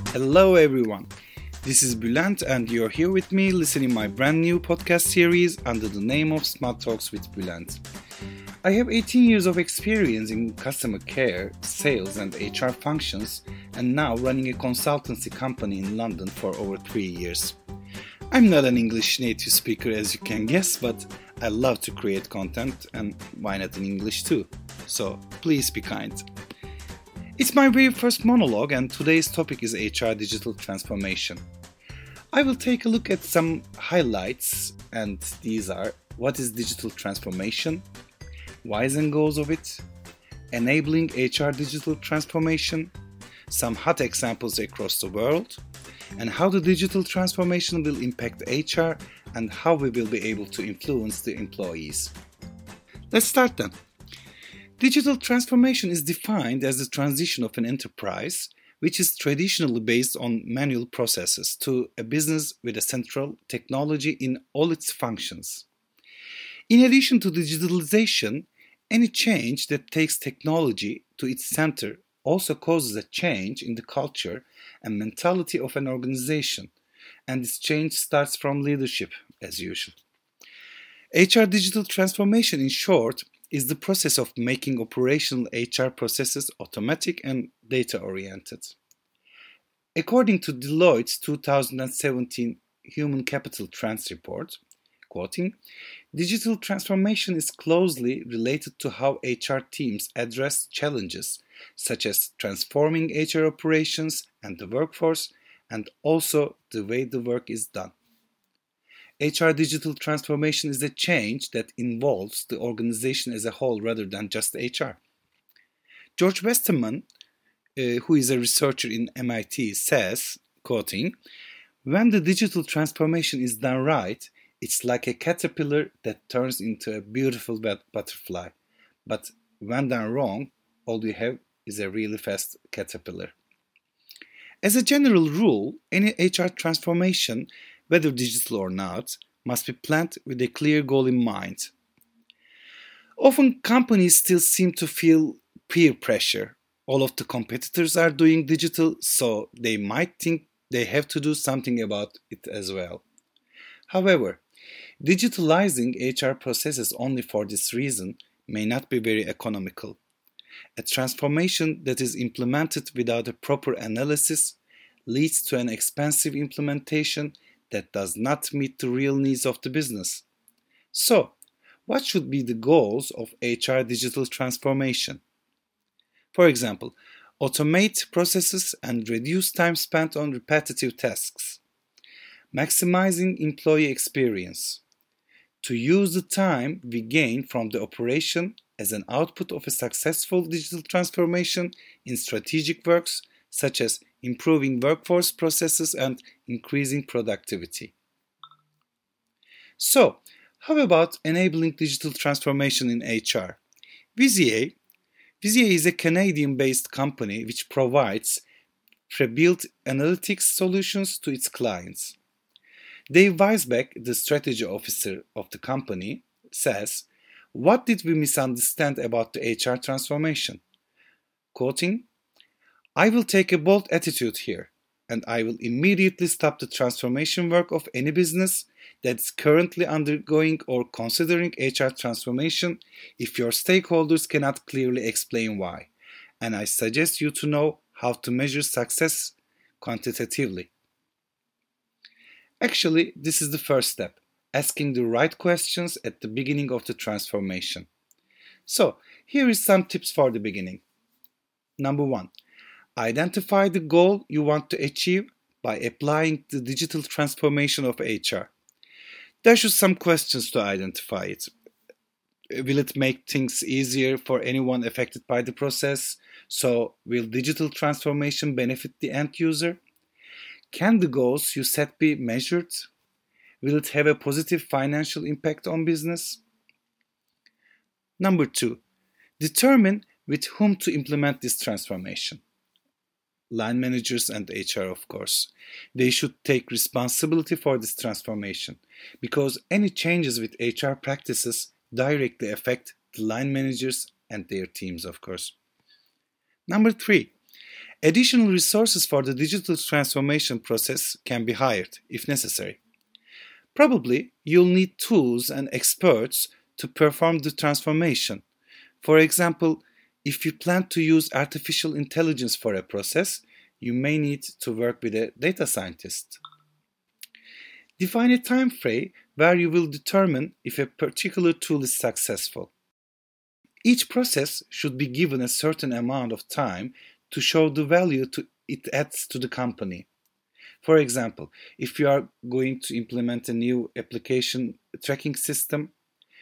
Hello everyone. This is Bülent and you're here with me listening my brand new podcast series under the name of Smart Talks with Bülent. I have 18 years of experience in customer care, sales and HR functions and now running a consultancy company in London for over 3 years. I'm not an English native speaker as you can guess, but I love to create content and why not in English too. So please be kind. It's my very first monologue and today's topic is HR digital transformation. I will take a look at some highlights and these are: what is digital transformation, whys and goals of it, enabling HR digital transformation, some hot examples across the world, and how the digital transformation will impact HR and how we will be able to influence the employees. Let's start then. Digital transformation is defined as the transition of an enterprise, which is traditionally based on manual processes, to a business with a central technology in all its functions. In addition to digitalization, any change that takes technology to its center also causes a change in the culture and mentality of an organization, and this change starts from leadership, as usual. HR digital transformation, in short, is the process of making operational HR processes automatic and data-oriented. According to Deloitte's 2017 Human Capital Trends report, quoting, digital transformation is closely related to how HR teams address challenges such as transforming HR operations and the workforce, and also the way the work is done. HR digital transformation is a change that involves the organization as a whole rather than just HR. George Westerman, who is a researcher in MIT, says, quoting, when the digital transformation is done right, it's like a caterpillar that turns into a beautiful butterfly. But when done wrong, all you have is a really fast caterpillar. As a general rule, any HR transformation, whether digital or not, must be planned with a clear goal in mind. Often companies still seem to feel peer pressure. All of the competitors are doing digital, so they might think they have to do something about it as well. However, digitalizing HR processes only for this reason may not be very economical. A transformation that is implemented without a proper analysis leads to an expensive implementation that does not meet the real needs of the business. So, what should be the goals of HR digital transformation? For example, automate processes and reduce time spent on repetitive tasks. Maximizing employee experience. To use the time we gain from the operation as an output of a successful digital transformation in strategic works such as improving workforce processes and increasing productivity. So, how about enabling digital transformation in HR? Visier is a Canadian-based company which provides pre-built analytics solutions to its clients. Dave Weisbeck, the strategy officer of the company, says, what did we misunderstand about the HR transformation? Quoting, I will take a bold attitude here, and I will immediately stop the transformation work of any business that's currently undergoing or considering HR transformation if your stakeholders cannot clearly explain why, and I suggest you to know how to measure success quantitatively. Actually, this is the first step, asking the right questions at the beginning of the transformation. So, here is some tips for the beginning. Number 1. Identify the goal you want to achieve by applying the digital transformation of HR. There should some questions to identify it. Will it make things easier for anyone affected by the process? So, will digital transformation benefit the end user? Can the goals you set be measured? Will it have a positive financial impact on business? Number 2. Determine with whom to implement this transformation. Line managers and HR, of course. They should take responsibility for this transformation because any changes with HR practices directly affect the line managers and their teams, of course. Number 3. Additional resources for the digital transformation process can be hired if necessary. Probably you'll need tools and experts to perform the transformation. For example, if you plan to use artificial intelligence for a process, you may need to work with a data scientist. Define a time frame where you will determine if a particular tool is successful. Each process should be given a certain amount of time to show the value it adds to the company. For example, if you are going to implement a new application tracking system,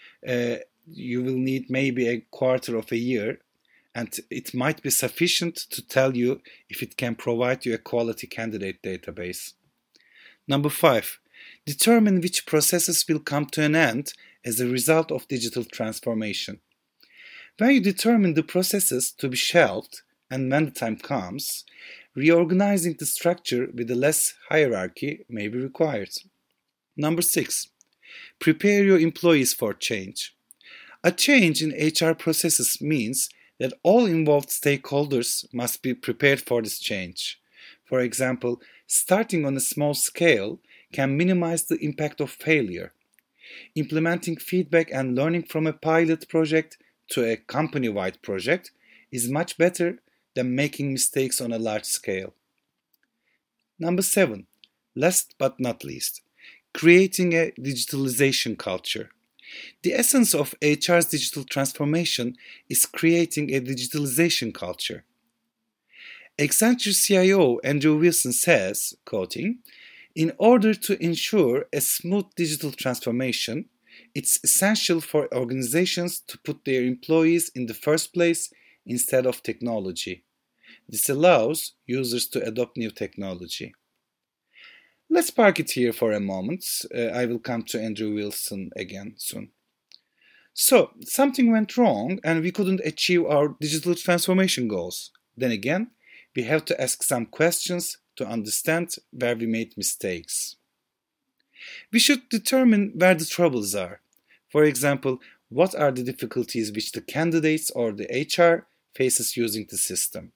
you will need maybe a quarter of a year, and it might be sufficient to tell you if it can provide you a quality candidate database. Number 5. Determine which processes will come to an end as a result of digital transformation. When you determine the processes to be shelved and when the time comes, reorganizing the structure with a less hierarchy may be required. Number 6. Prepare your employees for change. A change in HR processes means that all involved stakeholders must be prepared for this change. For example, starting on a small scale can minimize the impact of failure. Implementing feedback and learning from a pilot project to a company-wide project is much better than making mistakes on a large scale. Number 7. Last but not least, creating a digitalization culture. The essence of HR's digital transformation is creating a digitalization culture. Accenture CIO Andrew Wilson says, quoting, "In order to ensure a smooth digital transformation, it's essential for organizations to put their employees in the first place instead of technology. This allows users to adopt new technology." Let's park it here for a moment. I will come to Andrew Wilson again soon. So, something went wrong and we couldn't achieve our digital transformation goals. Then again, we have to ask some questions to understand where we made mistakes. We should determine where the troubles are. For example, what are the difficulties which the candidates or the HR faces using the system?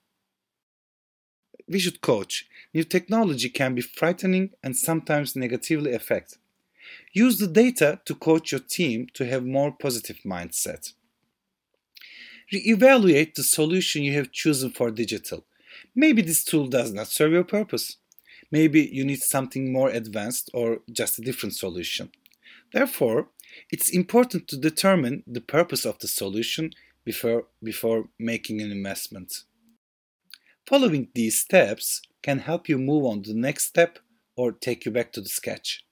We should coach. New technology can be frightening and sometimes negatively affect. Use the data to coach your team to have more positive mindset. Re-evaluate the solution you have chosen for digital. Maybe this tool does not serve your purpose. Maybe you need something more advanced or just a different solution. Therefore, it's important to determine the purpose of the solution before making an investment. Following these steps can help you move on to the next step or take you back to the sketch.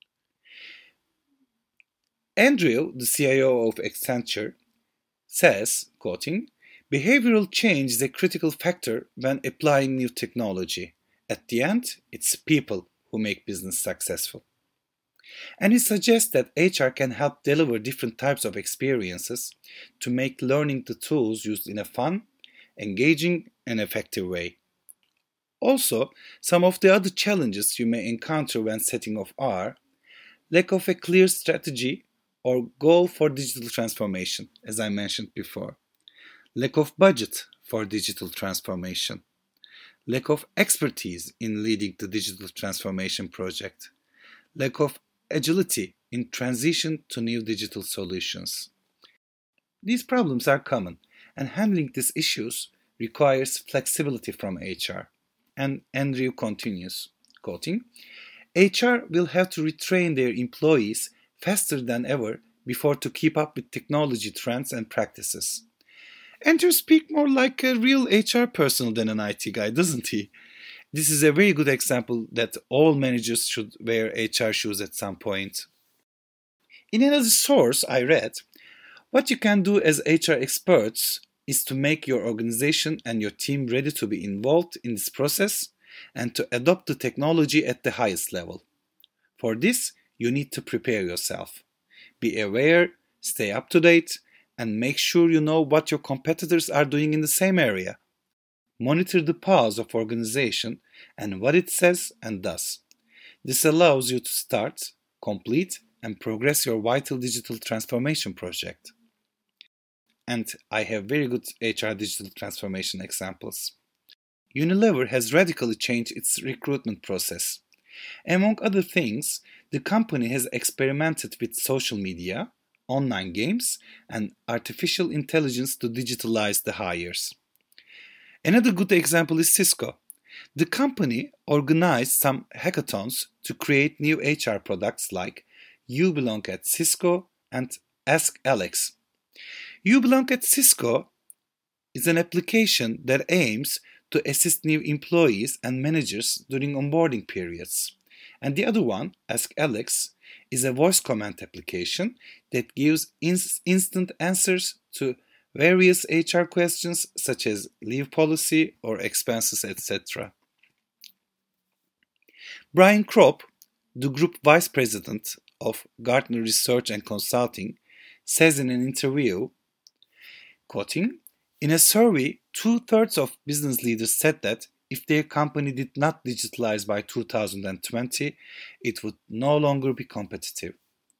Andrew, the CIO of Accenture, says, quoting, "Behavioral change is a critical factor when applying new technology. At the end, it's people who make business successful." And he suggests that HR can help deliver different types of experiences to make learning the tools used in a fun, engaging, and effective way. Also, some of the other challenges you may encounter when setting off are lack of a clear strategy or goal for digital transformation, as I mentioned before, lack of budget for digital transformation, lack of expertise in leading the digital transformation project, lack of agility in transition to new digital solutions. These problems are common, and handling these issues requires flexibility from HR. And Andrew continues, quoting, "HR will have to retrain their employees faster than ever before to keep up with technology trends and practices." Andrew speaks more like a real HR person than an IT guy, doesn't he? This is a very good example that all managers should wear HR shoes at some point. In another source I read, what you can do as HR experts is to make your organization and your team ready to be involved in this process and to adopt the technology at the highest level. For this, you need to prepare yourself. Be aware, stay up to date, and make sure you know what your competitors are doing in the same area. Monitor the pulse of organization and what it says and does. This allows you to start, complete, and progress your vital digital transformation project. And I have very good HR digital transformation examples. Unilever has radically changed its recruitment process. Among other things, the company has experimented with social media, online games, and artificial intelligence to digitalize the hires. Another good example is Cisco. The company organized some hackathons to create new HR products like You Belong at Cisco and Ask Alex. You Belong at Cisco is an application that aims to assist new employees and managers during onboarding periods. And the other one, Ask Alex, is a voice comment application that gives instant answers to various HR questions such as leave policy or expenses, etc. Brian Kropp, the group vice president of Gartner Research and Consulting, says in an interview, quoting, "In a survey, two-thirds of business leaders said that if their company did not digitalize by 2020, it would no longer be competitive."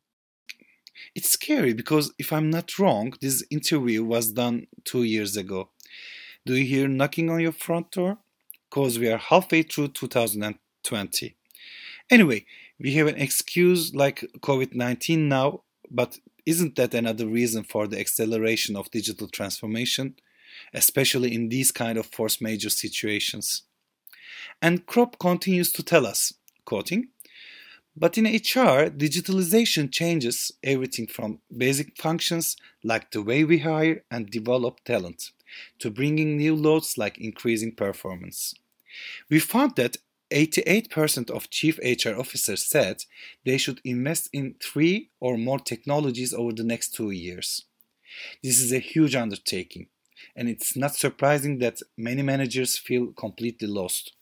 It's scary because if I'm not wrong, this interview was done 2 years ago. Do you hear knocking on your front door? Because we are halfway through 2020. Anyway, we have an excuse like COVID-19 now, but isn't that another reason for the acceleration of digital transformation, especially in these kind of force majeure situations? And Kropp continues to tell us, quoting, "But in HR, digitalization changes everything from basic functions like the way we hire and develop talent to bringing new loads like increasing performance. We found that 88% of chief HR officers said they should invest in 3 or more technologies over the next 2 years. This is a huge undertaking, and it's not surprising that many managers feel completely lost."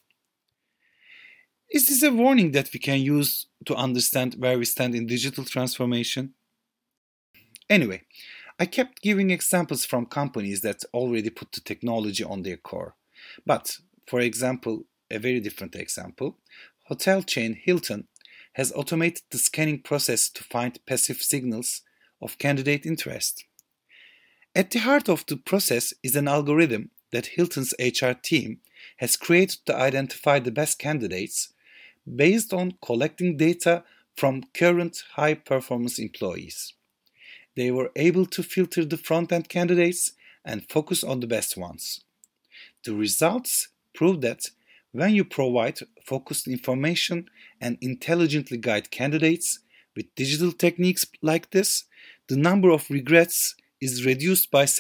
Is this a warning that we can use to understand where we stand in digital transformation? Anyway, I kept giving examples from companies that already put the technology on their core. But, for example, a very different example, hotel chain Hilton has automated the scanning process to find passive signals of candidate interest. At the heart of the process is an algorithm that Hilton's HR team has created to identify the best candidates based on collecting data from current high-performance employees. They were able to filter the front-end candidates and focus on the best ones. The results prove that when you provide focused information and intelligently guide candidates with digital techniques like this, the number of regrets is reduced by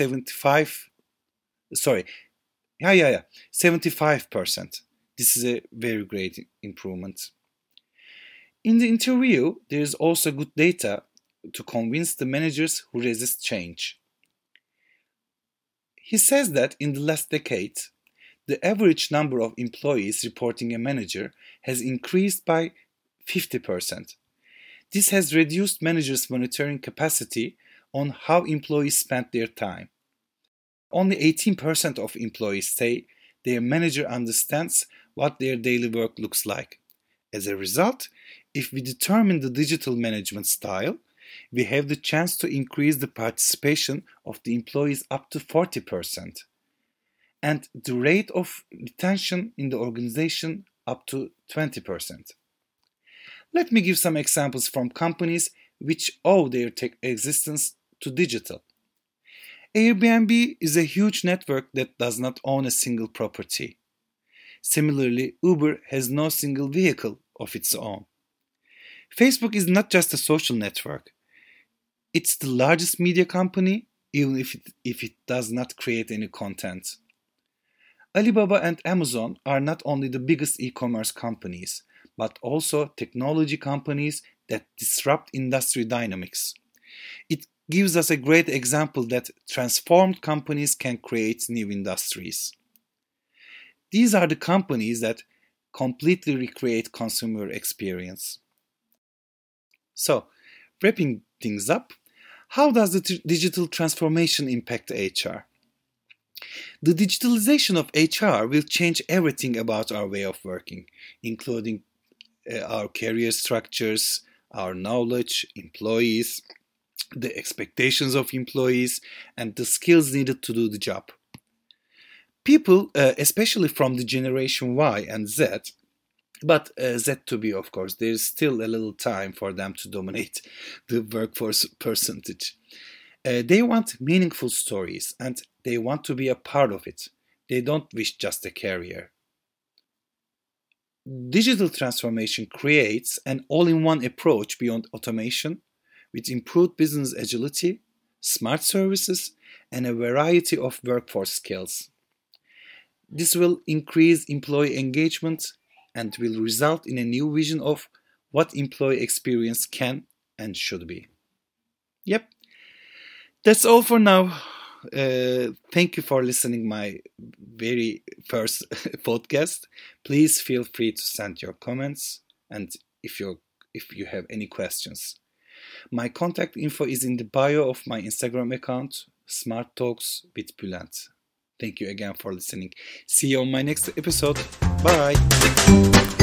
75%. This is a very great improvement. In the interview, there is also good data to convince the managers who resist change. He says that in the last decade, the average number of employees reporting a manager has increased by 50%. This has reduced managers' monitoring capacity on how employees spend their time. Only 18% of employees say their manager understands what their daily work looks like. As a result, if we determine the digital management style, we have the chance to increase the participation of the employees up to 40%, and the rate of retention in the organization up to 20%. Let me give some examples from companies which owe their existence to digital. Airbnb is a huge network that does not own a single property. Similarly, Uber has no single vehicle of its own. Facebook is not just a social network. It's the largest media company, even if it does not create any content. Alibaba and Amazon are not only the biggest e-commerce companies, but also technology companies that disrupt industry dynamics. It gives us a great example that transformed companies can create new industries. These are the companies that completely recreate consumer experience. So, wrapping things up, how does the digital transformation impact HR? The digitalization of HR will change everything about our way of working, including our career structures, our knowledge, employees, the expectations of employees, and the skills needed to do the job. People, especially from the generation Y and Z, but Z to be, of course, there's still a little time for them to dominate the workforce percentage. They want meaningful stories and they want to be a part of it. They don't wish just a career. Digital transformation creates an all-in-one approach beyond automation with improved business agility, smart services, and a variety of workforce skills. This will increase employee engagement and will result in a new vision of what employee experience can and should be. Yep, that's all for now. Thank you for listening my very first podcast. Please feel free to send your comments and if you have any questions. My contact info is in the bio of my Instagram account, Smart Talks with Bülent. Thank you again for listening. See you on my next episode. Bye.